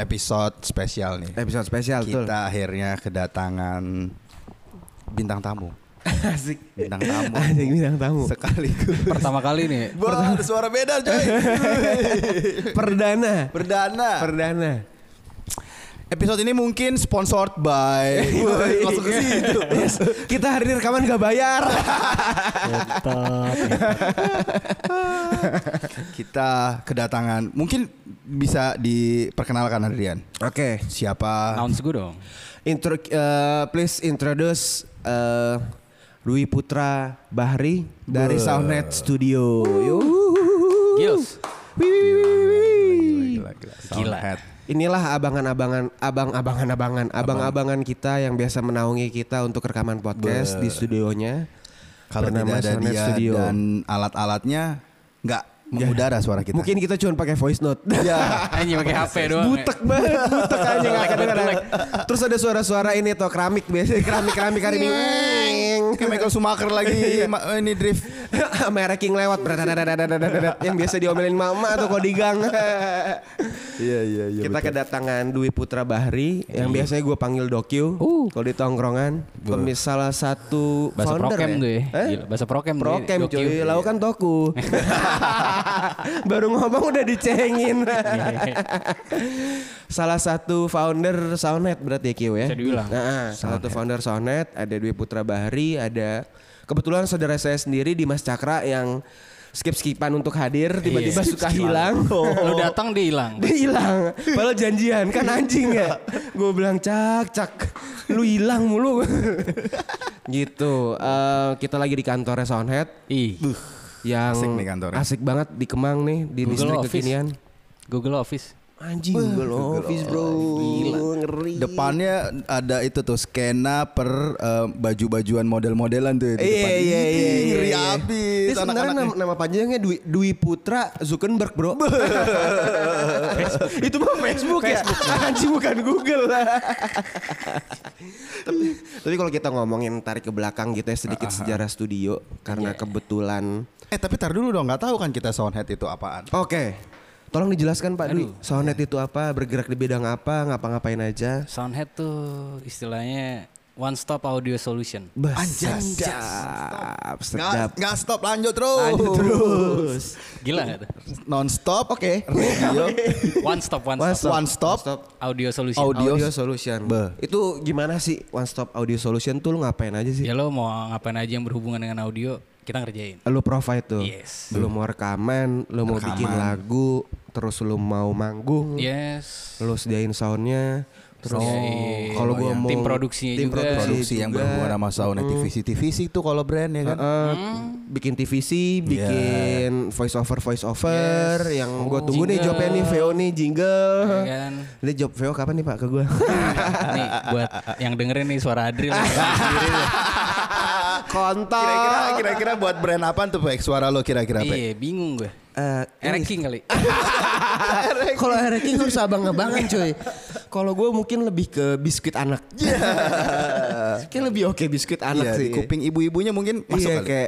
episode spesial nih. Episode spesial tuh. Kita akhirnya kedatangan bintang tamu. Asik. Bintang tamu. Asik bintang tamu. Sekaligus. Pertama kali nih. Wah, ada suara beda coy. Perdana. Episode ini mungkin sponsored by langsung ke situ. Yes. Kita hari ini rekaman gak bayar. Kita kedatangan, mungkin bisa diperkenalkan Adrian. Oke. Siapa? Announce gue dong. Please introduce Dwi Putra Bahri dari Soundhead Studio. Gils. Gila. Soundhead. Inilah abang-abangan kita yang biasa menaungi kita untuk rekaman podcast di studionya. Kalau bernama tidak ada Soundhead dia Studio. dan alat-alatnya nggak mengudara suara kita. Mungkin kita cuma pakai voice note. Ya. Anjing pakai HP doang. Butek banget, butek aja nggak kedengeran. Terus ada suara-suara ini tuh keramik biasanya keramik hari ini. Kayak Michael Schumacher lagi ini drift. Mereking lewat yang biasa diomelin mama tuh kalau di gang. Iya. Kita kedatangan Dwi Putra Bahri yang biasanya gue panggil Dokyu kalau di tongkrongan. Salah satu Bahasa founder prokem ya. tuh ya. Gila, bahasa prokem tuh. Prokem cuy, lakukan toku. Baru ngomong udah dicengin. Salah satu founder Soundhead berarti ya Kio ya. Bisa diulang. Nah, salah satu founder Soundhead, ada Dwi Putra Bahri, ada kebetulan saudara saya sendiri Dimas Cakra yang skip-skipan untuk hadir tiba-tiba suka hilang. Lu datang dia hilang. Dia hilang. Padahal janjian kan anjing ya. Gue bilang cak, lu hilang mulu. Gitu. Kita lagi di kantornya Soundhead. Yang Asik nih kantornya. asik banget di Kemang nih di Google distrik Office. kekinian. Google Office. Anjing Google Office bro. Gila. Ngeri. Depannya ada itu tuh skena per baju-bajuan model-modelan tuh itu depan. Iya. Ngeri abis Ini sebenarnya nama panjangnya Dwi Putra Zuckerberg bro. Itu mah Facebook ya. Anjing bukan Google. Tapi kalau kita ngomongin tarik ke belakang gitu ya sedikit sejarah studio karena kebetulan. Tapi tar dulu dong, nggak tahu kan kita Soundhead itu apaan. Oke. Tolong dijelaskan Pak Dwi. Soundhead itu apa? Bergerak di bidang apa? Ngapa-ngapain aja? Soundhead tuh istilahnya one stop audio solution. Sedap. Nggak stop, lanjut terus. Lanjut terus. Gila gak tuh? Non stop. Oke. Radio. One stop. One stop. Audio solution. Audio solution. Itu gimana sih One Stop Audio Solution tuh lu ngapain aja sih? Ya lo mau ngapain aja yang berhubungan dengan audio kita ngerjain. Lu provide tuh. Yes. Lu mau rekaman, lu mau bikin lagu, terus lu mau manggung. Yes. Lu sediain soundnya. Terus kalau gua mau tim produksinya juga. Produksi yang berhubungan sama sound TVC tuh kalau brand ya kan. Bikin TVC, bikin voice over yang gue tunggu nih jobnya nih VO nih jingle. Ya kan? Ini job VO kapan nih Pak ke gue? Nih buat yang dengerin nih suara Adri lah. Kontol. Kira-kira buat brand apa tuh Pak? Suara lo kira-kira Pak? Iya bingung gue. Ereking kali. Kalau Ereking harus abang-abangan coy. Kalau gue mungkin lebih ke biskuit anak. Kayak lebih oke biskuit anak sih. Di kuping ibu-ibunya mungkin masuk kali. Kayak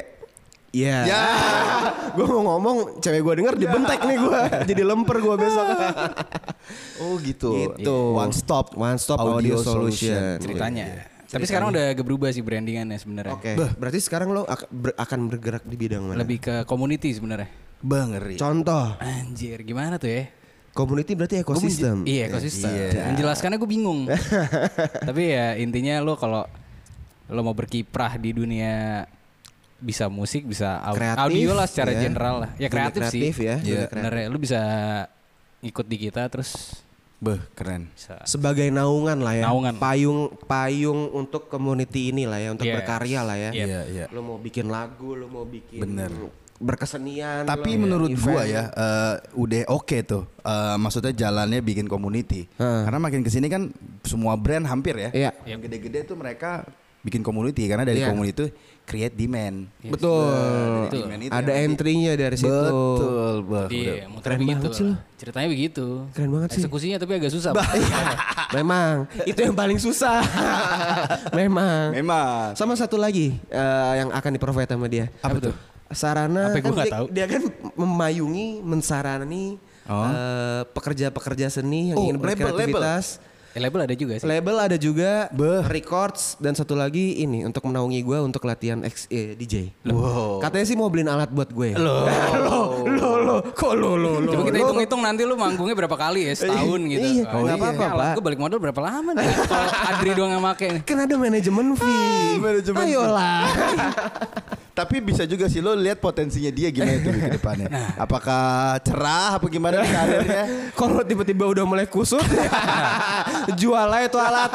gue mau ngomong cewek gue denger dibentek nih gue. Jadi lemper gue besok. Oh gitu. One Stop Audio Solution. Ceritanya. Tapi sekarang udah agak berubah sih brandingannya sebenarnya. Oke. Berarti sekarang lo akan bergerak di bidang mana? Lebih ke community sebenarnya. Ngeri. Contoh. Anjir, gimana tuh ya? Community berarti ekosistem. Iya, ekosistem. Menjelaskannya gue bingung. Tapi ya intinya lo kalau lo mau berkiprah di dunia bisa musik, bisa audio lah secara general lah. Ya kreatif sih. Ya. Bener ya, lo bisa ikut di kita terus. Keren. Bisa. Sebagai naungan lah ya. Naungan. Payung untuk community ini lah ya, untuk berkarya lah ya. Iya. Lo mau bikin lagu, lo mau bikin berkesenian. Tapi menurut gua ya udah oke tuh. Maksudnya jalannya bikin community. Karena makin kesini kan semua brand hampir ya. Iya. Yang gede-gede tuh mereka bikin community karena dari community itu create demand. Betul. Ada entry-nya dari situ. Betul. Iya, Keren banget sih lo. Ceritanya begitu. Keren banget sih. Eksekusinya tapi agak susah. Memang itu yang paling susah. Memang. Sama satu lagi yang akan di-provide sama dia. Apa tuh? Sarana Apa kan gua nggak tahu. dia kan memayungi, mensarani pekerja-pekerja seni yang ingin berkreativitas. Label ada juga sih. Label ada juga, records, dan satu lagi ini untuk menaungi gue untuk latihan DJ. Wow. Katanya sih mau beliin alat buat gue. Lo. Kok lo. Coba kita hitung-hitung nanti lu manggungnya berapa kali ya setahun gitu. Iya, nggak apa-apa, Pak. Gue balik modal berapa lama nih? Kalau Adri doang yang make nih. Kan ada manajemen fee. Ayolah. Tapi bisa juga sih lo lihat potensinya dia gimana itu ke depannya. Apakah cerah apa gimana nih karirnya? Kalau tiba-tiba udah mulai kusut, jual aja tuh alat.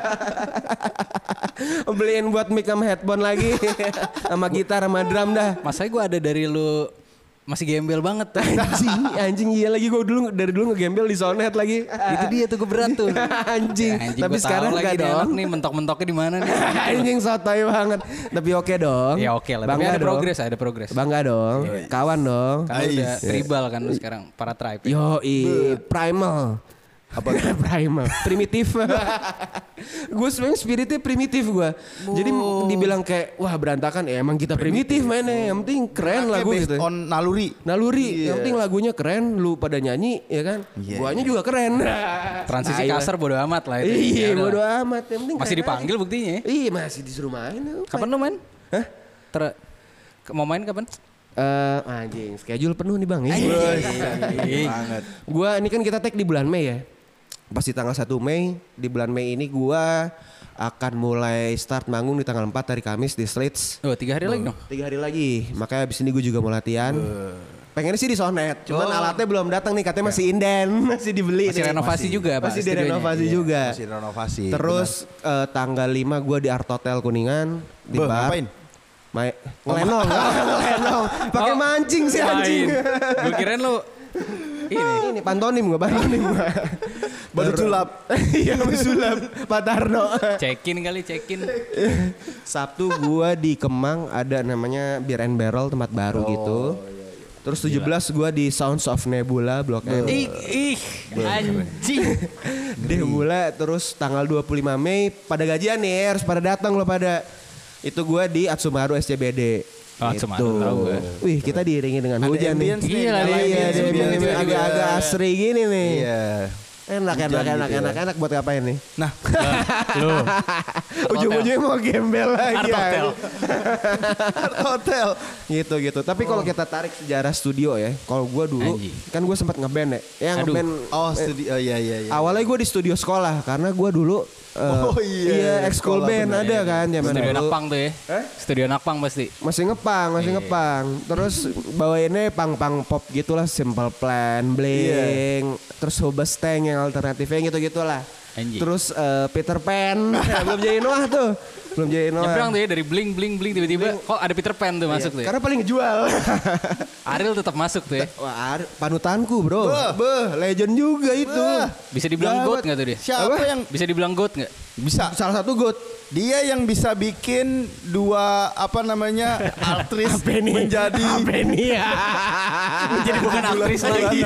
Beliin buat mic sama headphone lagi, sama gitar sama drum dah. Masanya gue ada dari lu masih gembel banget. Anjing iya lagi gue dari dulu ngegembel di Soundhead lagi. Itu dia tuh gue berat tuh. Anjing. Tapi sekarang enggak dong. Nih mentok-mentoknya di mana nih? Anjing sotoy banget. Tapi oke dong. Ya oke lah. Tapi ada progres. Bangga dong. Kawan dong. Kan udah tribal kan lu sekarang para tribe. Primal. Apa primal? Primitif. Gue sebenarnya spiritnya primitif gue. Jadi dibilang kayak wah berantakan ya emang kita primitif mainnya. Yang penting keren lagu gitu. On naluri. Yang penting lagunya keren, lu pada nyanyi ya kan. Guanya juga keren. Transisi kasar bodo amat lah itu. Iya bodo amat. Yang penting masih dipanggil buktinya. Iya masih disuruh main. Kapan lu main? Hah? Mau main kapan? Anjing schedule penuh nih bang. Banget. Gua ini kan kita tag di bulan Mei ya. Pasti tanggal 1 Mei, di bulan Mei ini gua akan mulai start manggung di tanggal 4 hari Kamis di Slits. 3 hari lagi dong? 3 hari lagi, makanya abis ini gue juga mau latihan. Pengennya sih di Soundhead, cuman alatnya belum datang nih, katanya masih inden, masih dibeli. Masih renovasi juga Pak. Masih direnovasi juga. Masih renovasi. Terus tanggal 5 gue di Art Hotel Kuningan. Di bar. Ngapain? Ngelenong. Pakai mancing sih anjing. Gue kirain lu ini pantonim gue. Baru sulap. Iya baru sulap Pak Tarno. Cekin. Sabtu gue di Kemang ada namanya Beer and Barrel, tempat baru gitu. Terus 17 gue di Sounds of Nebula Blok M. Anjing. Nebula. Terus tanggal 25 Mei pada gajian nih harus pada datang lo pada. Itu gue di Atsumaru SCBD. Atsumaru tahu gue. Wih kita diiringi dengan hujan nih. Iya agak asri gini nih. Iya. Enak buat ngapain nih? Nah, lu ujung-ujungnya mau gembel lagi. Art hotel. Gitu. Tapi kalau kita tarik sejarah studio ya, kalau gue dulu kan gue sempat ngeband ya. Ngeband. Studio. Iya. Awalnya gue di studio sekolah karena gue dulu ekskul band ada kan zaman Studio dulu. Nakpang tuh ya. Studio Nakpang pasti. Masih ngepang. Terus bawainnya pang pop gitulah, Simple Plan, Blink, terus Hobestang yang alternatifnya gitu-gitulah. Terus Peter Pan. Belum jadi Noah tuh. Nyebrang tuh ya dari bling tiba-tiba kok ada Peter Pan tuh masuk tuh ya. Karena paling ngejual. Ariel tetap masuk tuh ya. Wah, panutanku bro. Legend juga itu. Bisa dibilang GOAT enggak tuh dia? Siapa yang bisa dibilang GOAT enggak? Bisa. Salah satu GOAT. Dia yang bisa bikin dua aktris menjadi menjadi bukan aktris lagi.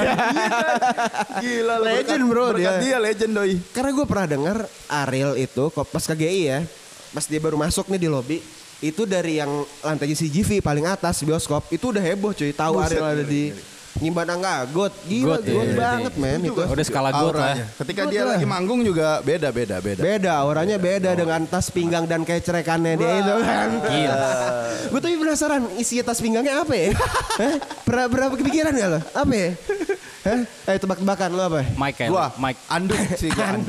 Gila legend bro dia legend doi. Karena gue pernah dengar Ariel itu pas KGI ya. Pas dia baru masuk nih di lobby, itu dari yang lantai CGV paling atas bioskop itu udah heboh cuy. Tahu Ariel ada di Nyimban Angga, GOAT banget men itu. Udah skala GOAT lah. Ketika dia lagi manggung juga beda. Beda, auranya beda dengan tas pinggang dan kecerekannya dia itu kan. Gila. Gue tuh penasaran isi tas pinggangnya apa ya? Berapa kepikiran gak lo? Apa ya? Tebak-tebakan lo apa? Mike kayak gua Mike. Anduk sih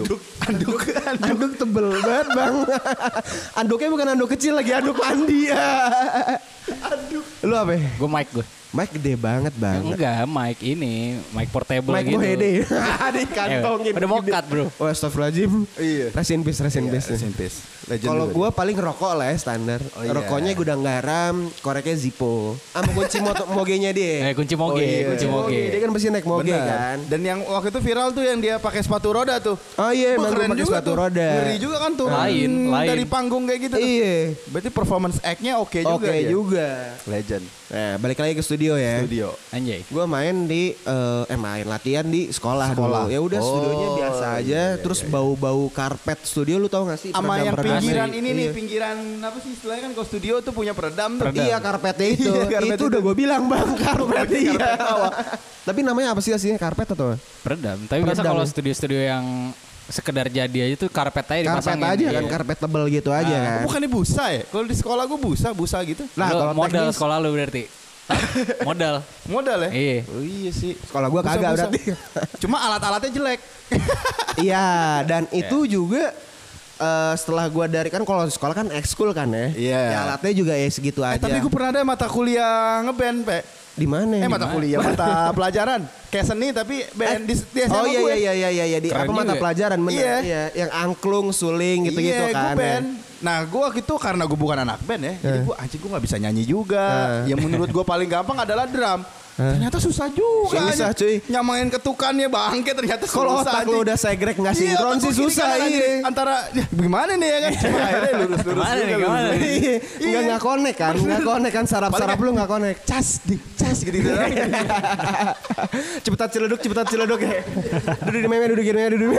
Anduk tebel banget bang. Anduknya bukan anduk kecil lagi, anduk mandi ya. Anduk. Lo apa? Gue Mike gue. Mike gede banget bang. Enggak, Mike ini, Mike portable Mike gitu. Mike Mohede. Ada kantongin. Udah mokat bro. Oh astagfirullahaladzim. Iya. Rest in peace. Kalau gue paling rokok lah ya standar. Rokoknya gudang garam, koreknya Zippo. Sama kunci mogenya dia. Kunci moge. Dia kan pasti naik moge kan. Dan yang waktu itu viral tuh yang dia pakai sepatu roda tuh. Oh iya, emang keren pakai juga sepatu tuh. roda. Ngeri juga kan tuh. Lain. Dari panggung kayak gitu. Iya. Berarti performance act-nya oke juga. Oke juga. Legend. Nah, balik lagi ke studio studio ya. Studio. Anjay. Gue main di main latihan di sekolah dulu. Ya udah studionya biasa aja. Terus bau-bau karpet studio lu tau gak sih? Sama yang pinggiran ini nih, Iya. pinggiran apa sih istilahnya kan kalau studio tuh punya peredam tuh. Iya karpetnya itu. Iya, karpet itu udah gue bilang bang karpet iya. bawah. Tapi namanya apa sih aslinya karpet atau? Peredam. Tapi biasa Peredam kalau ya? studio-studio yang sekedar jadi aja tuh karpet aja Karpet dipasangin. aja Iya. kan karpet tebel gitu aja kan. Bukannya busa ya? Kalau di sekolah gue busa gitu. Nah Lu kalau modal teknis sekolah lu berarti. Modal. Modal ya? Iya. Oh iya sih. sekolah gue kagak Busa-busa. berarti. Cuma alat-alatnya jelek. Iya dan itu juga setelah gue dari kan kalau sekolah kan ekskul kan ya. Iya. Ya alatnya juga ya segitu aja. Tapi gue pernah ada mata kuliah ngeband, Pe. Di mana? Mata kuliah, mata pelajaran. Kayak seni tapi band di SMA Oh gue. iya di Keren apa mata juga. pelajaran bener. Iya. Iya, yang angklung, suling gitu-gitu Iya, kan. gue band. Nah, gue waktu itu karena gue bukan anak band ya, jadi gue anjing gue nggak bisa nyanyi juga. Yang menurut gue paling gampang adalah drum. Ternyata susah juga. Susah, anjing. cuy. Nyamain ketukannya bangke ternyata Kalau susah. otak lu anjing. udah segrek nggak Iya, sinkron otak sih gua gini susah kan, iya. anjing. Antara ya, gimana nih ya kan? Cuma akhirnya lurus Kemana nih, juga, kemana lurus. nih? Iya, nggak connect kan, nggak connect kan saraf-saraf lu nggak connect. Cas gitu. Cepetan ciledug ya. Duduk di meme, duduk di meme.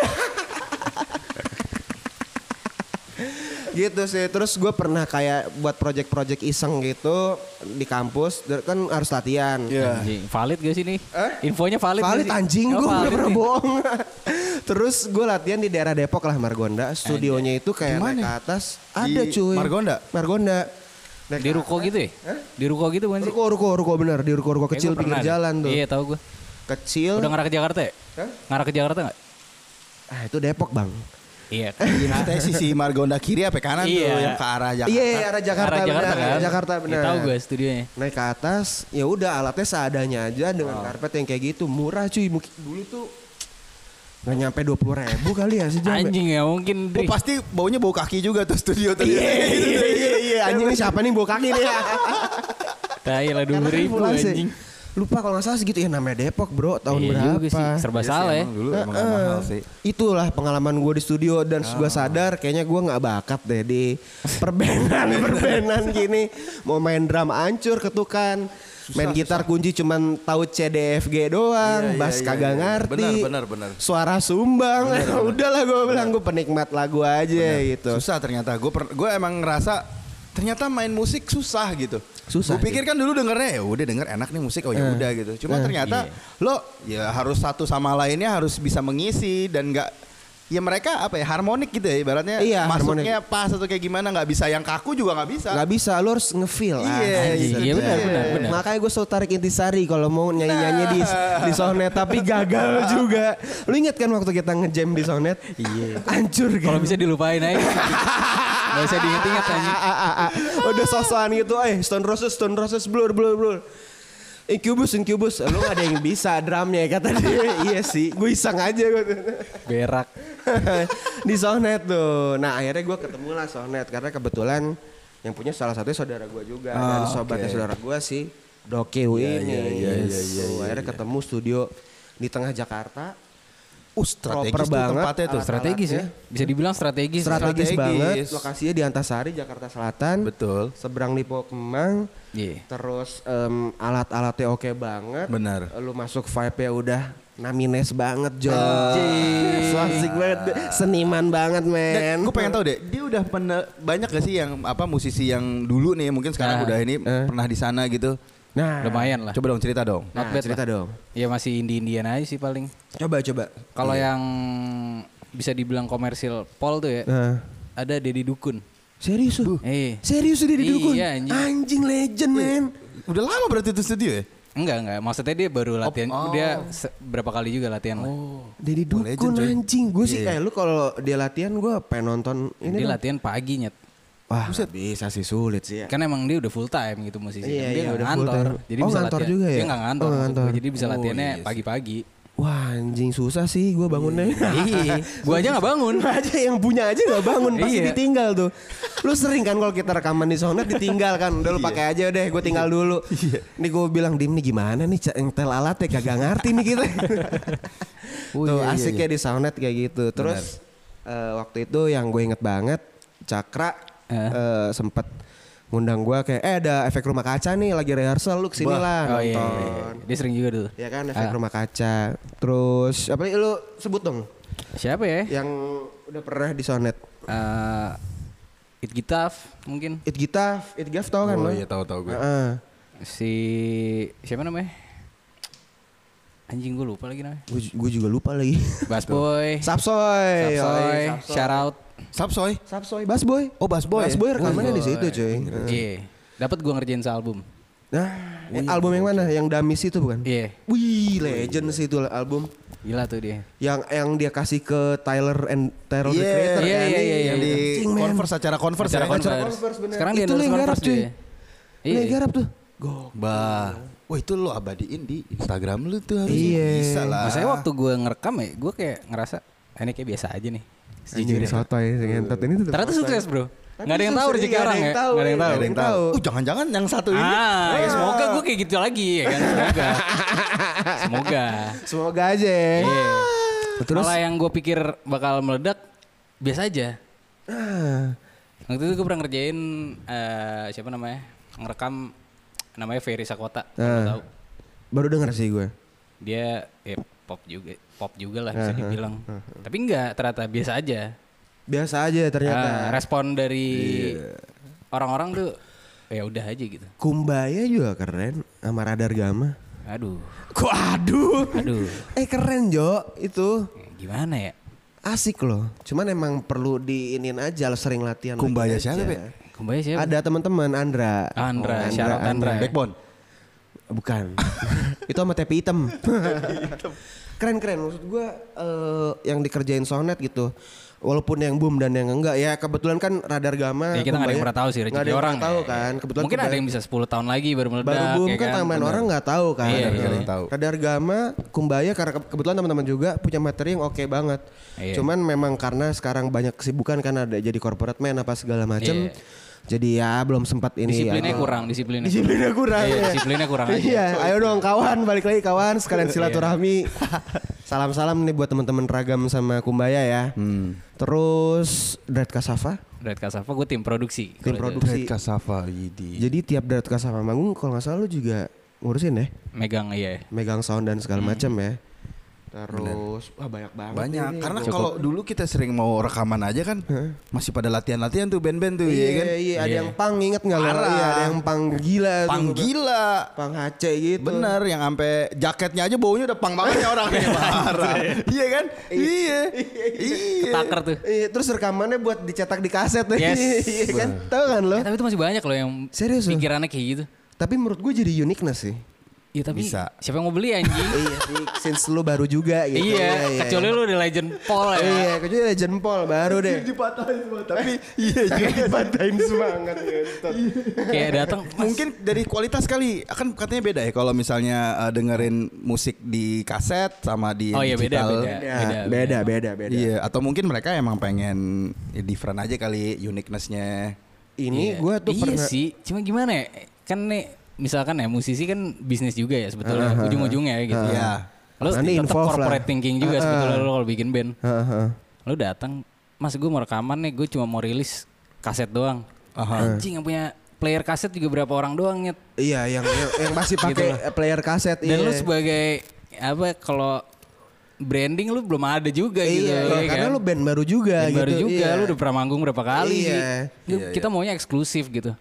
Gitu sih. Terus gue pernah kayak buat project-project iseng gitu di kampus. Kan harus latihan. Iya. Anjing. Valid gak sih nih? Infonya valid gak Valid sih? anjing, Oh, gue valid pernah nih. bohong. Terus gue latihan di daerah Depok lah Margonda. Studionya itu kayak Di mana? naik ke atas. Ada Di cuy. Margonda? Naik Di ke ruko gitu ya? Di ruko gitu bukan sih? Ruko bener. Di ruko Kayak kecil gua pinggir pernah deh. jalan tuh. Iya tahu gue. Kecil. Udah ngarah ke Jakarta ya? Hah? Ngarah ke Jakarta gak? Ah itu Depok bang. Iya. Kita sisi Margonda kiri apa kanan tuh Iya. yang ke arah Jakarta. Iya arah Jakarta, Arah Jakarta benar. kan? Jakarta benar. Ya, tahu gue studionya. Naik ke atas, ya udah alatnya seadanya aja dengan karpet yang kayak gitu murah cuy. Mungkin dulu tuh nggak nyampe 20.000 kali ya sejam. Anjing ya mungkin. Oh, pasti baunya bau kaki juga tuh studio tuh. Iya anjing ini siapa nih bawa kaki nih ya. Tai lah 2.000 Karena kan anjing. Lupa kalau nggak salah segitu ya namanya Depok bro tahun Iya berapa. juga sih. Serba salah ya. Dulu emang mahal sih. Itulah pengalaman gue di studio dan gue sadar kayaknya gue nggak bakat deh di perbenan gini. Mau main drum ancur ketukan, main gitar kunci cuman tahu C D F G doang, Iya, bass iya, kagak iya. ngerti. Benar. Suara sumbang, udahlah gue bilang gue penikmat lagu aja gitu. Susah ternyata. Gue emang ngerasa ternyata main musik susah gitu. Susah, Gue pikir kan dulu dengernya ya udah denger enak nih musik oh ya udah gitu. Cuma ternyata lo ya harus satu sama lainnya harus bisa mengisi dan nggak ya mereka apa ya harmonik gitu ya ibaratnya Iya, masuknya pas atau kayak gimana nggak bisa yang kaku juga nggak bisa. Nggak bisa, lu harus nge-feel. Iya, Iya benar. Makanya gue selalu tarik Intisari kalau mau nyanyi-nyanyi di Sonet tapi gagal juga. Lu inget kan waktu kita ngejam di Sonet? Iya. Hancur kan. Kalau bisa dilupain aja. Gak usah diinget-inget anjing. Udah sosokan gitu, Stone Roses, blur. Incubus, lu gak ada yang bisa drumnya kata dia. Iya sih, gue iseng aja gue. Berak. Di Sonet tuh. Nah akhirnya gue ketemu lah Sonet karena kebetulan yang punya salah satunya saudara gue juga dan sobatnya saudara gue sih Dokeu ini. Akhirnya ketemu studio di tengah Jakarta. Strategis Proper tuh banget. tempatnya tuh. Strategis ya. Bisa dibilang strategis. Strategis Strategis. banget. Lokasinya di Antasari, Jakarta Selatan. Betul. Seberang Lipo Kemang. Iya. Terus alat-alatnya oke banget. Benar. Lu masuk vibe-nya udah namines banget Jo. So asik banget. Seniman banget men. Gue pengen tahu deh, dia udah banyak gak sih yang apa musisi yang dulu nih mungkin sekarang udah ini pernah di sana gitu. Nah, Lumayan lah. Coba dong cerita dong. Not nah, bad cerita lah. dong. Ya masih indie-indian aja sih paling. Coba. Kalau yang bisa dibilang komersil Pol tuh ya. Nah. Ada Deddy Dukun. Serius lu? Serius lu di Dukun? Iya, anjing. Anjing legend men. Udah lama berarti itu studio ya? Enggak. Maksudnya dia baru latihan. Dia berapa kali juga latihan lah. Deddy legend, Dukun coy. anjing. Gue sih lu kalau dia latihan gue pengen nonton ini. Dia dong. latihan pagi nyet. Wah bisa sih sulit sih ya. Kan emang dia udah full time gitu musisi. Iya, Dia nggak udah full ngantor. time. Jadi Oh, bisa ngantor latihan. juga ya? Dia nggak ngantor. Oh, maksud ngantor. gue. Jadi bisa latihannya iya sih. pagi-pagi. Wah anjing susah sih gue bangunnya. Iya. Gua aja nggak bangun. aja yang punya aja nggak bangun pasti Iya. ditinggal tuh. Lu sering kan kalau kita rekaman di Sonet ditinggal kan. Udah lu pakai aja deh gue tinggal dulu. Nih gue bilang Dim nih gimana nih nyetel alatnya kagak ngerti nih kita. Tuh asiknya di Sonet kayak gitu. Terus waktu itu yang gue inget banget Cakra sempet ngundang gue kayak ada efek rumah kaca nih lagi rehearsal lu kesini lah Iya. nonton. Dia sering juga tuh. Ya kan efek rumah kaca. Terus apa lu sebut dong Siapa ya? yang udah pernah di Soundhead. It Gitaf mungkin. It Gitaf tau kan lo? Oh iya tahu gue. Si siapa namanya? Anjing gue lupa lagi namanya. Gue juga lupa lagi. Basboy. Sapsoy. Shout out. Sapsoy. Basboy. Oh Basboy. Basboy rekamannya di situ cuy. Iya. Dapat gue ngerjain sealbum. Nah, album yang mana? Yang Damis itu bukan? Iya. Wih, legend sih itu album. Gila tuh dia. Yang dia kasih ke Tyler the Creator Iya, kan? iya. Yang di Converse acara Converse Acara ya. Converse. bener. Sekarang dia Itu endorse yang garap, Converse cuy. dia. Ini yang garap tuh. Wah itu lo abadiin di Instagram lu tuh harusnya. Iya. Bisa lah. Maksudnya waktu gue ngerekam ya, gue kayak ngerasa ini kayak biasa aja nih. Sejujurnya sotoy ngentot ini tuh. Ternyata sukses bro. Nggak ada yang tahu rezeki orang ya. Nggak ada yang tahu. Jangan-jangan yang satu ini. Ya semoga gue kayak gitu lagi ya kan. Semoga aja. Iya. Terus Malah yang gue pikir bakal meledak biasa aja. Waktu itu gue pernah ngerjain siapa namanya ngerekam namanya Ferry Sakota. Kalau tahu. baru denger sih gue. Dia pop juga lah bisa dibilang. Tapi enggak ternyata biasa aja. Biasa aja ternyata. Respon dari orang-orang tuh ya udah aja gitu. Kumbaya juga keren sama Radar Gama. Aduh. Kok aduh? Aduh. Keren Jo itu. Gimana ya? Asik loh. Cuman emang perlu diinin aja lo sering latihan. Kumbaya lagi aja. siapa, Be? Kumbaya siapa? Ada teman-teman Andra. Syarat Andra. Backbone. Bukan. Itu sama tepi hitam. Keren-keren maksud gue yang dikerjain Soundhead gitu. Walaupun yang boom dan yang enggak ya kebetulan kan Radar Gama. Ya kita nggak ada yang pernah tahu sih rezeki orang. Tahu kan. Kebetulan mungkin ada yang bisa 10 tahun lagi baru meledak. baru boom ya kan tambahan orang nggak tahu kan. Iya, nggak ada yang tahu. Radar Gama, Kumbaya karena kebetulan teman-teman juga punya materi yang oke banget. Iya. Cuman memang karena sekarang banyak kesibukan kan ada jadi corporate man apa segala macem. Iya. Jadi ya belum sempat ini. Disiplinnya ya. kurang. Disiplinnya kurang. Iya, ya. disiplinnya kurang aja. Iya, ayo dong kawan, balik lagi kawan, sekalian silaturahmi. Salam-salam nih buat teman-teman Ragam sama Kumbaya ya. Terus Dread Kasava. Dread Kasava gue tim produksi. Tim produksi. Red Kasava Yidi. Jadi tiap Dread Kasava manggung kalau nggak salah lu juga ngurusin ya, Megang iya. megang sound dan segala macam ya. Terus wah banyak banget. Banyak nih. karena kalau dulu kita sering mau rekaman aja kan masih pada latihan-latihan tuh band-band tuh Iya, ya kan. iya, ada Iya. yang pang inget nggak lo? Parah. Iya, ada yang pang gila. tuh. Pang gila. Pang HC gitu. Bener yang sampai jaketnya aja baunya udah pang banget ya orangnya parah. Iya kan? Iya. Iya. Taker tuh. Iya, terus rekamannya buat dicetak di kaset Yes. Iya kan? Tahu kan lo? Tapi itu masih banyak loh yang Serius lo? pikirannya kayak gitu. Tapi menurut gue jadi uniqueness sih. Iya tapi Bisa. siapa yang mau beli anjing? Iya sih, since lu baru juga gitu. Iya, kecuali lu udah legend Paul ya. Iya, kecuali Legend Paul baru deh. Dipatahin semua tapi iya juga. Dipatahin semangat gitu. Kayak datang Mungkin dari kualitas kali akan katanya beda ya kalau misalnya dengerin musik di kaset sama di Oh iya beda digital. Beda. Iya, atau mungkin mereka emang pengen different aja kali uniqueness-nya. Ini gue tuh iya pernah sih, cuma gimana ya? Kan nih misalkan ya musisi kan bisnis juga ya sebetulnya ujung-ujungnya ya gitu. Iya. Lo Nanti tetap involve corporate lah. thinking juga sebetulnya lo kalau bikin band. Heeh. Lo datang, mas gue mau rekaman nih, gue cuma mau rilis kaset doang. Anjing yang punya player kaset juga berapa orang doang nyet. Iya, yang masih Gitu pakai loh. player kaset. Dan iya. lu sebagai apa kalau branding lu belum ada juga gitu. Iya, ya karena kan? lu band baru juga Band gitu. baru juga, iya. lu udah pernah manggung berapa kali Iya. sih. Kita maunya eksklusif gitu.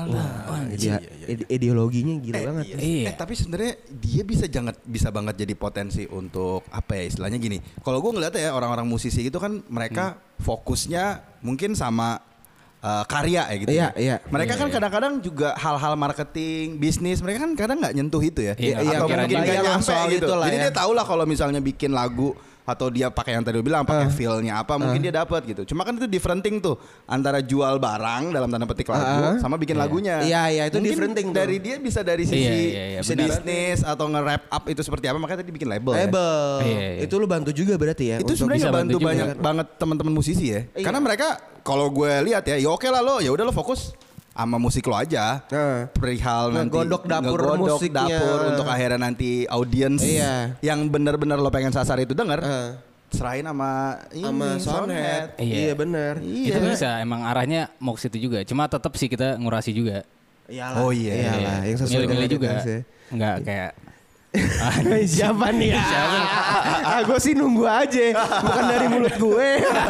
Ideologinya gila banget. Iya. Tapi sebenarnya dia bisa banget jadi potensi untuk apa ya istilahnya gini. Kalau gue ngeliat ya orang-orang musisi gitu kan mereka fokusnya mungkin sama karya ya gitu. Iya, ya. iya. Mereka kan kadang-kadang juga hal-hal marketing, bisnis mereka kan kadang nggak nyentuh itu ya. Iya, Atau pikiran mungkin dia nggak yang nyampe soal gitu. itulah Jadi ya. dia tahu lah kalau misalnya bikin lagu atau dia pakai yang tadi lu bilang pakai feel-nya apa mungkin dia dapat gitu. Cuma kan itu differenting tuh antara jual barang dalam tanda petik lagu sama bikin lagunya. Iya, itu Mungkin differenting tuh. dari dia bisa dari sisi Iya, bisa benar. bisnis atau nge-wrap up itu seperti apa makanya tadi bikin label. Label. Iya. Itu lu bantu juga berarti ya. Itu untuk- sebenarnya bisa bantu bantu juga banyak kan. banget teman-teman musisi ya. Iya. Karena mereka kalau gue lihat ya oke lah lo ya udah lo fokus sama musik lo aja. Perihal nanti Ngegodok dapur ngegodok musiknya. dapur untuk akhirnya nanti audiens Iya. yang benar-benar lo pengen sasar itu denger. serahin sama Soundhead. Iya. Iya benar. Itu bisa emang arahnya mau ke situ juga. Cuma tetap sih kita ngurasi juga. Iyalah. Oh iya. Iyalah, yang sesuai Milih-milih juga. sih. Enggak kayak Siapa nih? Gue sih nunggu aja, bukan dari mulut gue.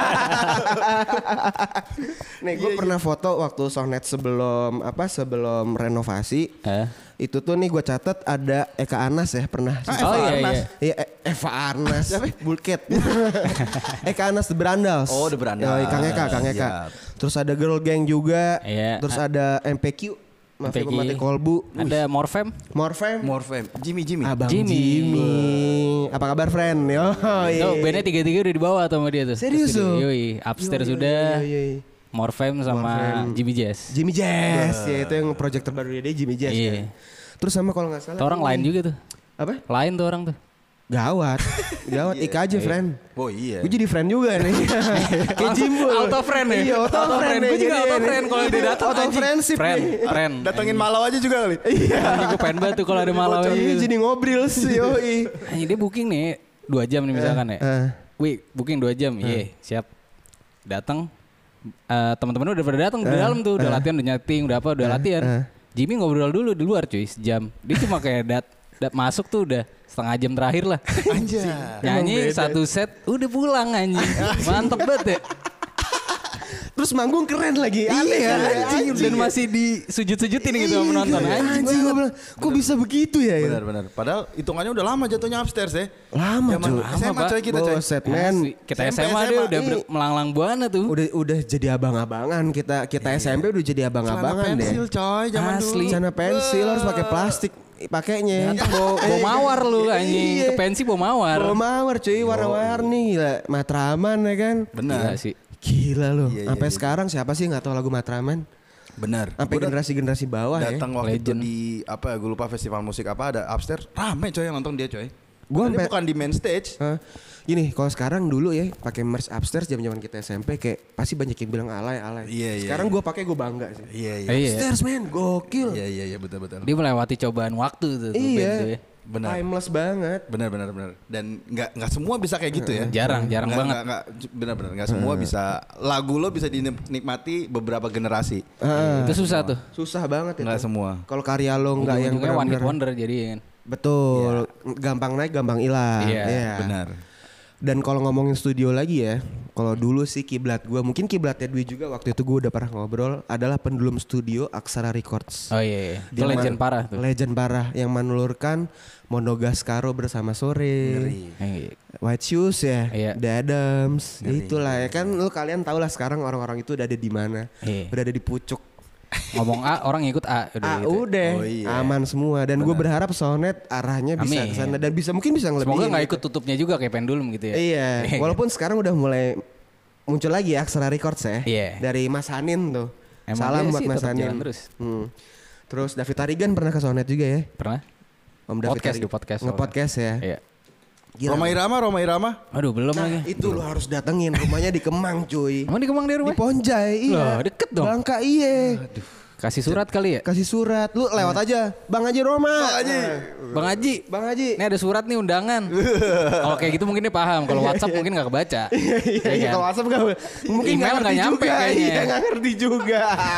Nih gue pernah foto waktu Soundhead sebelum renovasi. Itu tuh nih gue catat ada Eka Anas ya pernah. Iya Eva Arnas. Bulket. Eka Anas The Brandals. Oh The Brandals. Kang Eka. Terus ada Girl Gang juga. Terus ada MPQ. Mafia Pemati Kolbu. Ada Morfem. Jimmy. Abang Jimmy. Apa kabar friend? Yo. Tuh bandnya 3-3 udah dibawa sama dia tuh. Serius tuh? Yoi. Upstairs sudah. Morfem sama Jimmy Jazz. Ya itu yang project terbaru dia Jimmy Jazz. Iya. Kan? Terus sama kalau nggak salah. Orang lain juga tuh. Apa? Lain tuh orang tuh. Gawat Ika aja friend. Oh iya. Gue jadi friend juga nih. Kayak Jimbul. Auto friend ya? Iya auto friend. Gue juga auto friend kalau dia datang. Auto friendship. Friend. Datengin Malau aja juga kali. Iya. Gue pengen banget tuh kalau ada Malau ini jadi ngobrol sih. Hanya dia booking nih 2 jam nih misalkan ya. Wih booking 2 jam. Iya siap. Datang. Teman-teman udah pada datang di dalam tuh. Udah latihan, udah nyeting, udah latihan. Jimmy ngobrol dulu di luar cuy sejam. Dia cuma kayak masuk tuh udah setengah jam terakhir lah. Anjay. Nyanyi 1 set udah pulang anjing. Mantep banget ya. Terus manggung keren lagi. Aneh ya. Dan masih disujud-sujudin gitu sama penonton. Anjing gue bilang kok bisa begitu ya. Benar. Padahal hitungannya udah lama jatuhnya upstairs ya. Lama cuy. SMA coy kita coy. Set man. Kita SMA dia udah melanglang buana tuh. Udah jadi abang-abangan kita SMP udah jadi abang-abangan deh. Pensil coy zaman dulu. Celana pensil harus pakai plastik pakainya. Bawa mawar lu anjing. Ke pensi bawa mawar. Bawa mawar cuy warna-warni gila. Matraman ya kan. Benar sih. Gila lu. Sampai sekarang siapa sih nggak tahu lagu Matraman? Benar. Sampai generasi bawah ya. Datang waktu itu di gue lupa festival musik apa ada upstairs rame coy yang nonton dia coy. Gua bukan di main stage. Gini, kalau sekarang dulu ya pakai merch upstairs zaman kita SMP kayak pasti banyak yang bilang alay. Iya. Sekarang gue pakai gue bangga sih. Iya. Upstairs men, gokil. Iya betul. Dia melewati cobaan waktu tuh. Iya. Benar. Timeless banget. Benar. Dan nggak semua bisa kayak gitu ya. Jarang banget. Benar. Nggak semua bisa. Lagu lo bisa dinikmati beberapa generasi. Itu susah tuh. Susah banget itu. Nggak semua. Kalau karya lo nggak yang benar-benar one hit wonder jadi kan. Betul. Gampang naik, gampang hilang. Iya. Benar. Dan kalau ngomongin studio lagi ya, kalau dulu sih kiblat gue, mungkin kiblatnya Dwi juga waktu itu gue udah pernah ngobrol, adalah Pendulum Studio Aksara Records. Oh iya. Itu legend parah tuh. Legend parah yang menelurkan Monogaskaro bersama Sore, White Shoes ya, The Adams, itulah ya kan. Lu kalian tau lah sekarang orang-orang itu udah ada di mana, udah ada di pucuk. Ngomong A orang ngikut A udah aman semua. Dan gue berharap Soundhead arahnya bisa ke sana dan mungkin bisa ngelebihin. Semoga nggak ikut tutupnya juga kayak Pendulum gitu ya. Iya. Walaupun sekarang udah mulai muncul lagi ya Aksara Records ya. Dari Mas Hanin tuh. Salam buat Mas Hanin. Terus David Tarigan pernah ke Soundhead juga ya. Pernah. Om David Tarigan nge-podcast ya. Iya. Roma Irama. Aduh belum lagi. Itu lo harus datengin, rumahnya di Kemang cuy. Emang di Kemang dia rumah? Di Ponjai, iya. Loh, deket dong. Bangka iya. Aduh. Kasih surat kali ya? Kasih surat, lu lewat aja. Bang Haji Roma. Bang Haji. Ini ada surat nih undangan. Kalau kayak gitu mungkin dia paham. Kalau WhatsApp mungkin nggak kebaca. Iya. Kalau WhatsApp mungkin email nggak nyampe kayaknya. Iya nggak ngerti juga.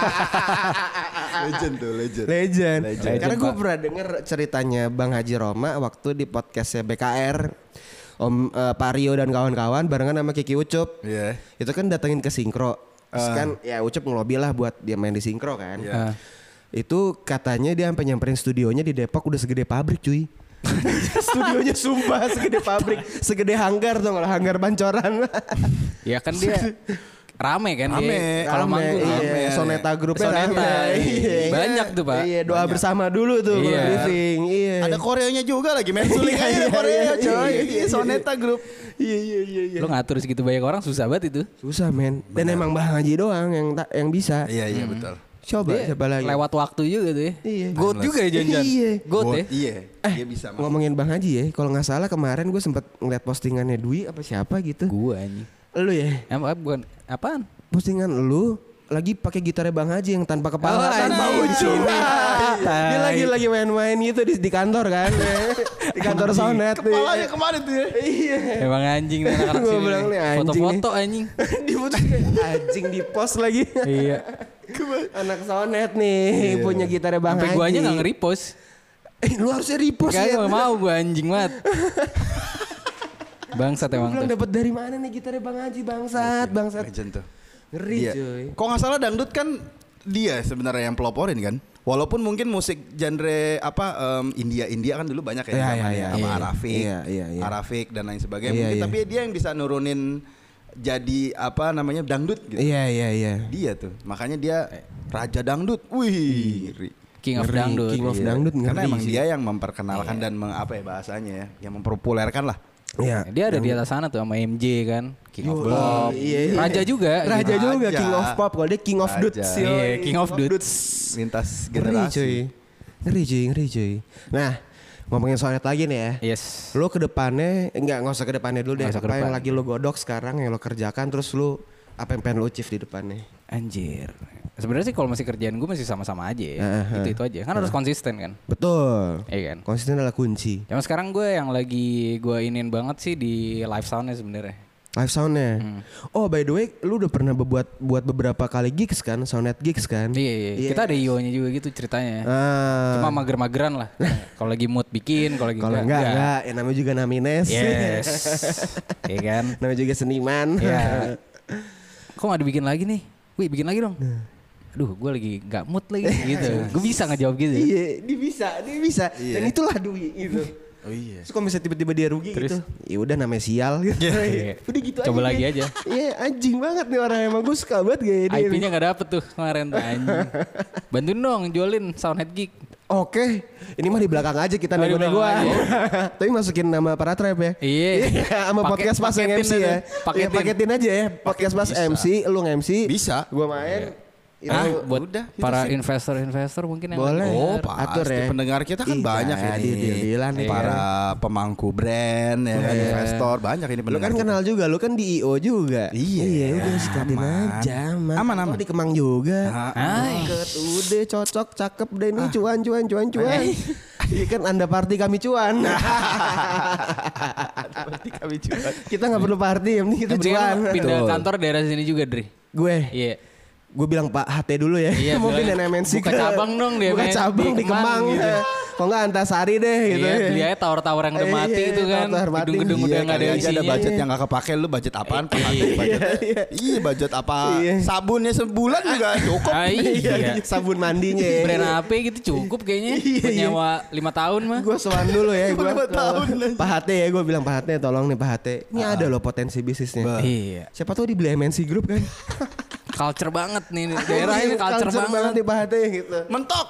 Legend. Karena gue pernah denger ceritanya Bang Haji Roma waktu di podcastnya BKR. Om Pak Rio dan kawan-kawan barengan sama Kiki Ucup. Itu kan datengin ke Sinkro. Terus kan ya Ucup ngelobi lah buat dia main di Sinkro kan. Itu katanya dia sampai nyamperin studionya di Depok udah segede pabrik cuy. Studionya sumpah segede pabrik, segede hanggar tuh kalau hanggar Bancoran. Ya kan dia rame kan dia. Kalau manggung rame. Soneta grupnya rame. Banyak tuh Pak. Iya doa bersama dulu tuh briefing. Iya. Ada koreonya juga lagi main suling aja ada koreo coy. Soneta grup. Iya. Lo ngatur segitu banyak orang susah banget itu. Susah men. Dan emang Bang Haji doang yang bisa. Iya betul. Coba siapa lagi? Lewat waktu juga tuh ya. Iya. Goat juga ya Janjan. Iya. Goat ya. Iya. Dia bisa. Ngomongin Bang Haji ya. Kalau nggak salah kemarin gue sempet ngeliat postingannya Dwi apa siapa gitu. Gue anjing. Lu ya? Bukan apaan? Postingan lu lagi pakai gitarnya Bang Haji yang tanpa kepala, tanpa ujung. Dia lagi main-main gitu di kantor kan. Di kantor Soundhead nih. Kepalanya kemana tuh ya? Iya. Emang anjing nih anak-anak Gua sini. bilang nih, anjing Foto-foto anjing. Di foto anjing di post lagi. Iya. Anak Soundhead nih punya gitarnya Bang Sampai Haji. gua aja gak nge-repost. Lu harusnya repost ya. Gak mau gua anjing banget. Bangsat Gua emang bilang tuh. dapat dari mana nih gitarnya Bang Haji bangsat. Legend tuh. Ngeri Dia. cuy. Kok nggak salah dangdut kan dia sebenarnya yang peloporin kan. Walaupun mungkin musik genre India kan dulu banyak ya, Iya, zamannya, iya, sama iya. Arafik, Iya. Arafik dan lain sebagainya. Iya, Mungkin iya. tapi dia yang bisa nurunin jadi dangdut gitu. Iya. Dia tuh, makanya dia raja dangdut. Wih, ngeri. King of Ngeri, Dangdut. King of Iya. Dangdut ngeri Karena emang sih. dia yang memperkenalkan dan bahasanya ya, yang mempopulerkan lah. Iya. Dia ada di atas sana tuh sama MJ kan. King of Pop. iya. Raja juga. Raja gitu. juga Raja. King of Pop. Kalau dia King of Raja. Dudes. Iya, King of Dudes. Lintas Ngeri cuy. generasi. Ngeri cuy. Nah, ngomongin Soundhead lagi nih ya. Yes. Lo ke depannya, nggak usah ke depannya dulu deh. Nggak usah ke Apa yang depan. lagi lo godok sekarang yang lo kerjakan terus lo apa yang pengen lo achieve di depannya? Anjir. Sebenarnya sih kalau masih kerjaan gue masih sama-sama aja ya. Itu aja. Kan harus konsisten kan. Betul. Iya kan. Konsisten adalah kunci. Cuma sekarang gue yang lagi gue inin banget sih di live soundnya sebenarnya. Live soundnya. Oh by the way, lu udah pernah buat beberapa kali gigs kan, Soundhead gigs kan? Iya. Kita ada IO-nya juga gitu ceritanya. Ah, Cuma mager-mageran lah. Kalau lagi mood bikin, kalau lagi kalau enggak, ya namanya juga namines. Yes. Iya kan. Namanya juga seniman. Iya. Kok gak dibikin lagi nih? Wih bikin lagi dong. Aduh gue lagi gak mood lagi gitu. Gue bisa ngejawab gitu. Iya, dia bisa. Iya. Dan itulah duit itu. Oh iya. Terus kalau misalnya tiba-tiba dia rugi Terus? gitu, ya udah namanya sial gitu. Iya. Udah gitu Coba aja. lagi deh. aja. Iya, anjing banget nih orang emang gue suka banget gaya dia. IP-nya gak dapet tuh kemarin tuh anjing. Bantuin dong jualin Soundhead Geek. Oke, ini mah di belakang aja kita Oh, di nego-nego belakang aja. aja. Tapi masukin nama para trap ya. Iya. Sama podcast pas yang Paketin MC aja. ya. Paketin. Iya, paketin aja ya. Podcast pas bisa. MC, lu MC. Bisa. Gua main. Buat udah, itu para sih. investor mungkin yang Boleh. Oh, denger. pasti Atur ya. pendengar kita kan Iya, banyak ini. deal-dealan nih Para pemangku brand ya kan, investor banyak ini Lu pendengar. kan kita. kenal juga, lu kan di IO juga. Iya, udah sikatin aman. aja. Aman. Lu di Kemang juga. Deket, udah cocok, cakep deh nih cuan. Iya kan Anda party kami cuan. Kami juga. Kita nggak perlu party, yang penting kita Yang penting cuan. kan pindah Betul. kantor daerah sini juga, Dri. Gue, Iya. gue bilang Pak HT dulu ya. Iya, Mau pindah bilang, MNC buka cabang dong di Buka MNC, cabang di di Kemang. Kemang, gitu. Kok nggak Antasari deh gitu. Iya, ya. beli aja tower-tower yang udah mati Iya, itu kan. tower mati. Gedung-gedung udah Iya, nggak ada kali aja isinya. ada budget yang gak kepake, lu budget apaan? Iya, budget apa? Iya. Sabunnya sebulan juga cukup. Ah, iya. Sabun mandinya ya. Brand HP gitu cukup kayaknya. Iya, Buat iya. nyawa 5 tahun mah. Gue sowan dulu ya gue. 5 tahun aja. Pak HT ya, gue bilang Pak HT tolong nih Pak HT. Ini ada loh potensi bisnisnya. Iya. Siapa tahu dibeli MNC Group kan. Culture banget nih daerah ini culture banget. nih Pak HT gitu. Mentok.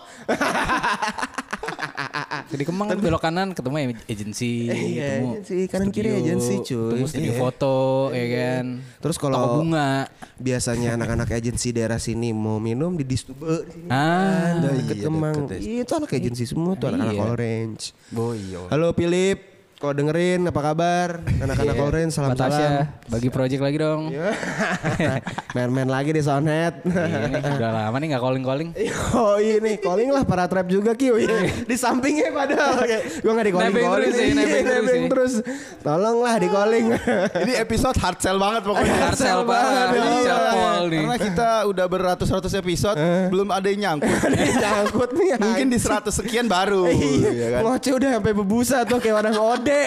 Di Kemang kan belok kanan ketemu agency, Iya, ketemu agency, kanan kiri studio, agency, cuy. ketemu studio Iya. foto, ya kan. Terus Toko kalau bunga. biasanya anak-anak agensi daerah sini mau minum di Distube di sini. Ah, Deket iya, Kemang. deket ya. Iya, itu anak agensi semua tuh anak-anak Iya. Orange. Boyo. Halo Philip, kalau dengerin apa kabar? Anak-anak Orange Batasya, salam-salam. bagi project lagi dong. Iya. Main-main lagi di Soundhead. Ini udah lama nih nggak calling. Oh ini calling lah para trap juga Kyo ya. Di sampingnya padahal gue gak di calling. Nebeng terus ya, nebeng terus ya. Tolonglah di calling. Ini episode hard sell banget pokoknya. Hard sell banget, banget, hard sell iya. Paul nih. Karena kita udah beratus-ratus episode, belum ada yang nyangkut. Nyangkut nih. Mungkin di 100 sekian baru. Iya ya kan? Ngoceh udah sampai bebusa tuh kayak orang ode.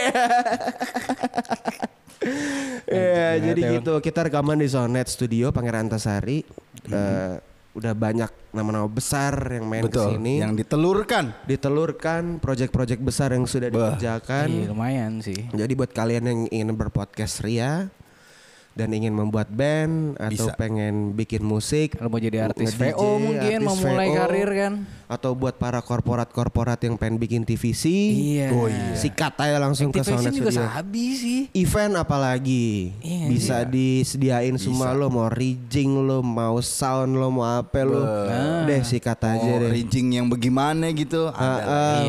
Ya jadi gitu kita rekaman di Soundhead Studio Pangeran Antasari. Udah banyak nama-nama besar yang main Betul. kesini. Yang ditelurkan. Ditelurkan project-project besar yang sudah dikerjakan. Iya lumayan sih. Jadi buat kalian yang ingin berpodcast ria dan ingin membuat band atau Bisa. pengen bikin musik, Kalau mau jadi artis nge-DJ, VO mungkin mau artis mulai VO, karir kan. atau buat para korporat-korporat yang pengen bikin TVC, Iya. oh iya. Sikat aja langsung ke Activation Soundhead juga Studio. sabi sih. Event apalagi Iya, bisa disediain semua lo mau rigging lo mau sound lo mau apa lo deh sikat aja Oh, deh. rigging yang bagaimana gitu. Ada. Iya.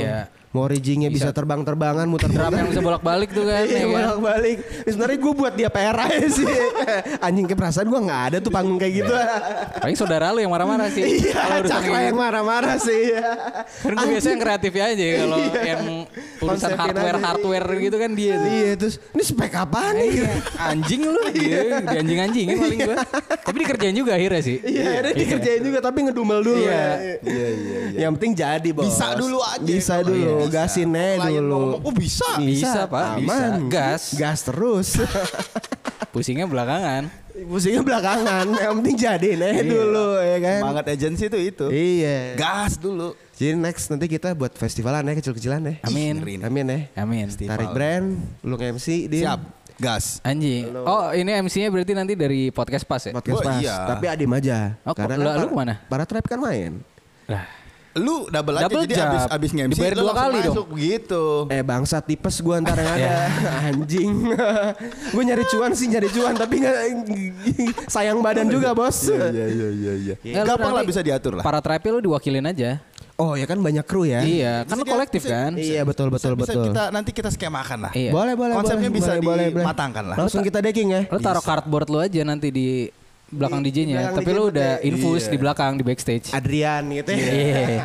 Mau riggingnya bisa terbang-terbangan, muter-muter. Drum yang bisa bolak-balik tuh kan. Iya, ya kan? bolak-balik. Sebenarnya gue buat dia PR aja sih. Anjing, ke perasaan gue nggak ada tuh panggung kayak gitu. Paling saudara lu yang marah-marah sih. Iya, urusan Cakra kayak yang gitu. marah-marah sih. Kan gue biasanya yang kreatif aja kalau yang urusan Konsepin hardware gitu kan dia tuh. Iya, terus ini spek apaan nih? Anjing lu, di anjing-anjingin paling gue. Tapi dikerjain juga akhirnya sih. Iya, ada dikerjain juga tapi ngedumel dulu. Iya. Yang penting jadi, Bos. Bisa dulu aja. Bisa dulu, Iya, gasin aja Klien dulu. ngomong, oh bisa. Bisa, Pak. Bisa. Aman. Gas. Gas terus. Pusingnya belakangan. Pusingnya belakangan. Yang penting jadiin aja dulu ya kan. Semangat agensi tuh itu. Iya. Gas dulu. Jadi next nanti kita buat festivalan ya, kecil-kecilan ya. Amin. Ngeri. Amin ya. Amin. Tarik brand, lu MC di Siap. Gas. Anjing. Oh, ini MC-nya berarti nanti dari podcast pas ya? podcast Oh, pas. iya. Tapi adim aja. Oh, Karena lu kan kemana? Para trap kan main. Lah. Lu double aja Double jadi job. abis nge-MC Dibayar lu 2 langsung kali dong. masuk begitu. Bangsa tipes gue ntar yang ada. Anjing. Gue nyari cuan tapi gak, sayang badan juga bos. Iya. Ya, lu Gampang lah nanti bisa diatur lah. Para trapnya lu diwakilin aja. Oh ya kan banyak kru ya. Iya, kan lu kolektif kan? Iya betul. Bisa nanti kita skemakan lah. Iya. Boleh. Konsepnya boleh, bisa boleh. dimatangkan lah. Langsung kita decking ya. Lu taruh cardboard lu aja nanti di belakang DJ-nya, belakang tapi DJ lu tuh udah kayak- infus iya. di belakang di backstage. Adrian gitu ya. Iya.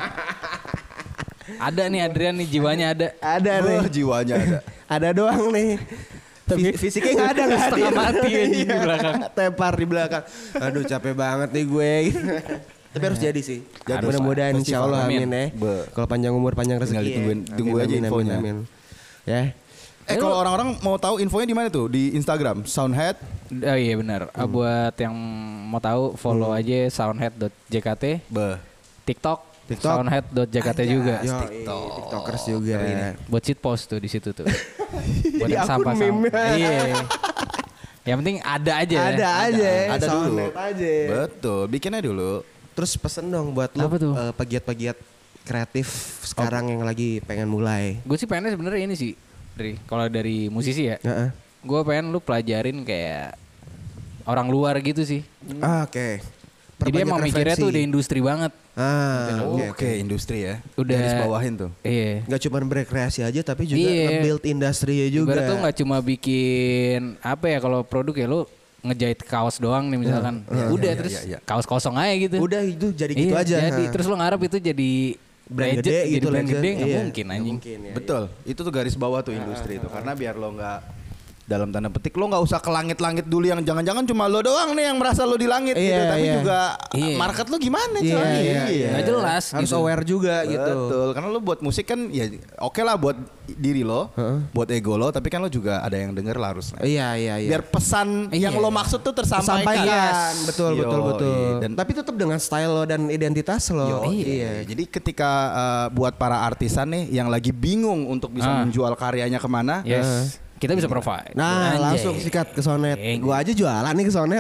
Ada nih Adrian nih jiwanya ada. Ada nih. Jiwanya ada. Ada doang nih. Tapi Fisiknya nggak ada nggak setengah hadir. mati anjing di Iya. belakang. Tepar di belakang. Aduh capek banget nih gue. Tapi harus jadi sih. Jadi, Mudah-mudahan Pak. insya Allah Amin. amin ya. Kalau panjang umur panjang rezeki. Tinggal ditungguin- ya. tunggu aja infonya. Amin. Ya. Kalau orang-orang mau tahu infonya di mana tuh? Di Instagram Soundhead. Oh iya benar. Buat yang mau tahu follow aja soundhead.jkt, TikTok soundhead.jkt juga. Yo, TikTokers juga. Buat cheat post tuh di situ tuh. Buat Di yang akun sampah-sampah. meme. Iya. Yang penting ada aja. Ada aja. Ada dulu. Soundhead aja. Betul, bikinnya dulu. Terus pesen dong buat lo Apa tuh? pegiat-pegiat kreatif sekarang yang lagi pengen mulai. Gue sih pengennya sebenarnya ini sih. Kalau dari musisi ya. Heeh. Gue pengen lu pelajarin kayak orang luar gitu sih. Oke. Jadi Perbanyak emang mikirnya referensi. tuh udah industri banget. Oke, industri ya. Udah Garis bawahin tuh. Iya. Gak cuma berkreasi aja tapi juga Iya. nge-build industrinya juga. Ibarat tuh nggak cuma bikin apa ya kalau produk ya lu ngejahit kaos doang nih misalkan. Udah iya, terus iya. kaos kosong aja gitu. Udah itu jadi gitu Iya, aja. Jadi Ha. terus lu ngarep itu jadi brand legend, gede jadi gitu brand legend. gede nggak Iya. mungkin Nggak anjing. mungkin, ya. Betul, itu tuh garis bawah tuh industri itu. Karena biar lo nggak dalam tanda petik lo nggak usah ke langit-langit dulu yang jangan-jangan cuma lo doang nih yang merasa lo di langit gitu, Iya, tapi iya. juga Iya. market lo gimana Iya, coy? iya. Nggak jelas Harus gitu. aware juga gitu. Betul, karena lo buat musik kan ya oke lah buat diri lo, buat ego lo, tapi kan lo juga ada yang denger lah harusnya. Iya. Biar pesan Iya. yang lo maksud tuh tersampaikan. Sampaikan, betul. Yoi. Dan Tapi tetap dengan style lo dan identitas lo. Iya. Jadi ketika buat para artisan nih yang lagi bingung untuk bisa menjual karyanya kemana, Yes. Kita bisa provide. Nah, Anjay. langsung sikat ke Sonet. Gua aja jualan nih ke Sonet.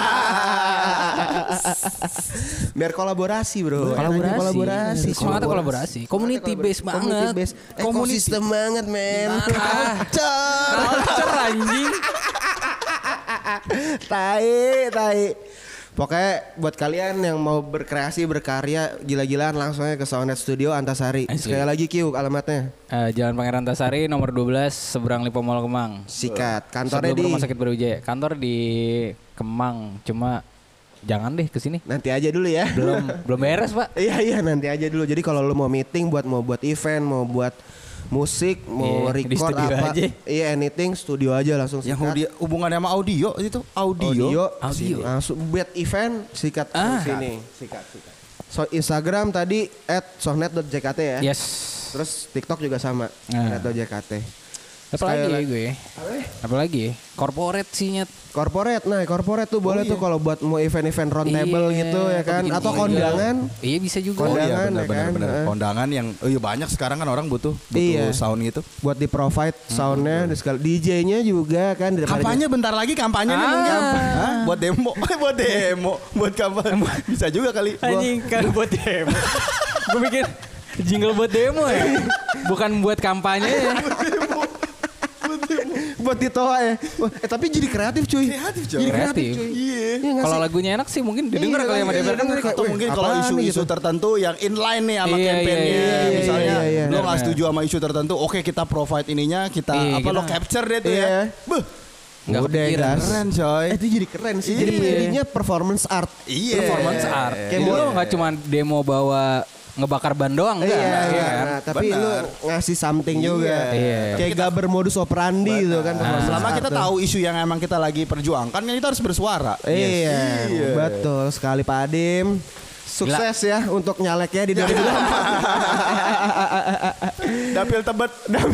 Biar kolaborasi, Bro. Kolaborasi. Semangatnya kolaborasi. Community based banget. Ekosistem banget, men. Culture anjing. Tai. Pokoknya buat kalian yang mau berkreasi, berkarya, gila-gilaan langsung aja ke Sonet Studio Antasari. Asli. Sekali lagi Q alamatnya. Jalan Pangeran Antasari nomor 12 seberang Lipo Mall Kemang. Sikat. Kantornya Sebelum di Rumah Sakit Brawijaya. Kantor di Kemang. Cuma jangan deh kesini. nanti aja dulu ya. Belum beres, Pak. Iya nanti aja dulu. Jadi kalau lu mau meeting mau buat event, mau buat musik, mau Iya, di record studio apa, aja. iya anything studio aja langsung yang sikat. hubungannya sama audio itu Audio. Audio. Langsung buat event sikat Ah. sini. Sikat. So Instagram tadi @sohnet.jkt ya. Yes. Terus TikTok juga sama Ah. @jkt. Apalagi Sekali gue. Apalagi corporate sih nyet. Corporate tuh boleh tuh kalau buat mau event-event round table Iya, gitu ya kan, bikin atau event. kondangan. Iya bisa juga. Kondangan. benar ya kan? benar. Kondangan yang banyak sekarang kan orang butuh Iya. sound gitu. Buat di provide soundnya, DJ-nya juga kan. Kampanye bentar lagi kampanye nih mungkin. Hah? Buat demo, buat kampanye. Bisa juga kali. Anjing kan buat demo. Gue mikir jingle buat demo ya. Bukan buat kampanye ya. buat ditoa ya. Tapi jadi kreatif cuy. Kreatif, coy. Jadi Kreatif. cuy. Iya. Kalau lagunya enak sih mungkin didengar kali sama DPR kan. Atau mungkin kalau isu-isu tertentu yang inline nih sama Iya, campaignnya, iya, misalnya iya. lo nggak Benar. setuju sama isu tertentu, oke kita provide ininya, kita Iya, lo kita- capture deh tuh Iya. ya. Beuh, Nggak Udah kepikiran. gas. keren coy. Itu jadi keren sih. Jadi Iya. jadinya performance art. Iya. Performance art. Kayak Jadi mau- lo nggak cuma demo bawa ngebakar ban doang enggak? Iya, Iya kan? nah, tapi Benar. lu ngasih something juga. Iya. Kayak gak bermodus operandi gitu kan. performance Selama art kita tuh. tahu isu yang emang kita lagi perjuangkan, kan kita harus bersuara. Iya, Iya. betul sekali Pak Adim. Sukses ya untuk nyaleknya di 2024. Dapil tebet.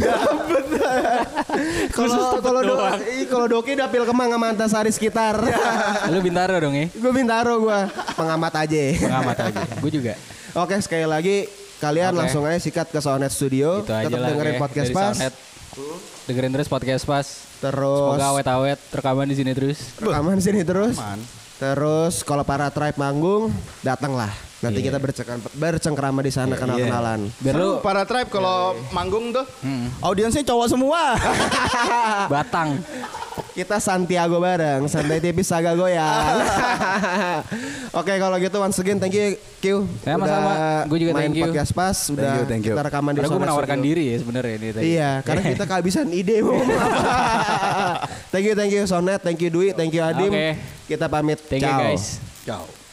Kalau Doki dapil Kemang sama Antasari sekitar. Lu Bintaro dong ya? Gue Bintaro gue pengamat aja. Pengamat aja. Gue juga. Oke sekali lagi kalian Oke. langsung aja sikat ke Soundhead Studio. Itu aja Tetap lah. dengerin oke. podcast Dari pas. Soundhead. Dengerin terus podcast pas. Terus Semoga awet-awet rekaman di sini terus. rekaman sini terus. Aman. Terus kalau para tribe manggung datanglah. Nanti kita bercengkrama di sana kenal-kenalan. Biar lu Para tribe kalau manggung tuh, audiensnya cowok semua. Batang. Kita Santiago bareng, santai tipis saga goyang. Oke kalau gitu once again thank you Q. Sama-sama. Gua juga main thank you. podcast pas, udah Thank you. kita rekaman di Karena gue Soundhead menawarkan Studio. diri ya sebenarnya ini tadi. Iya, karena kita kehabisan ide mau ngomong apa. Thank you Soundhead, thank you Dwi, thank you Adim. Oke. Kita pamit. Thank you Ciao. guys. Ciao.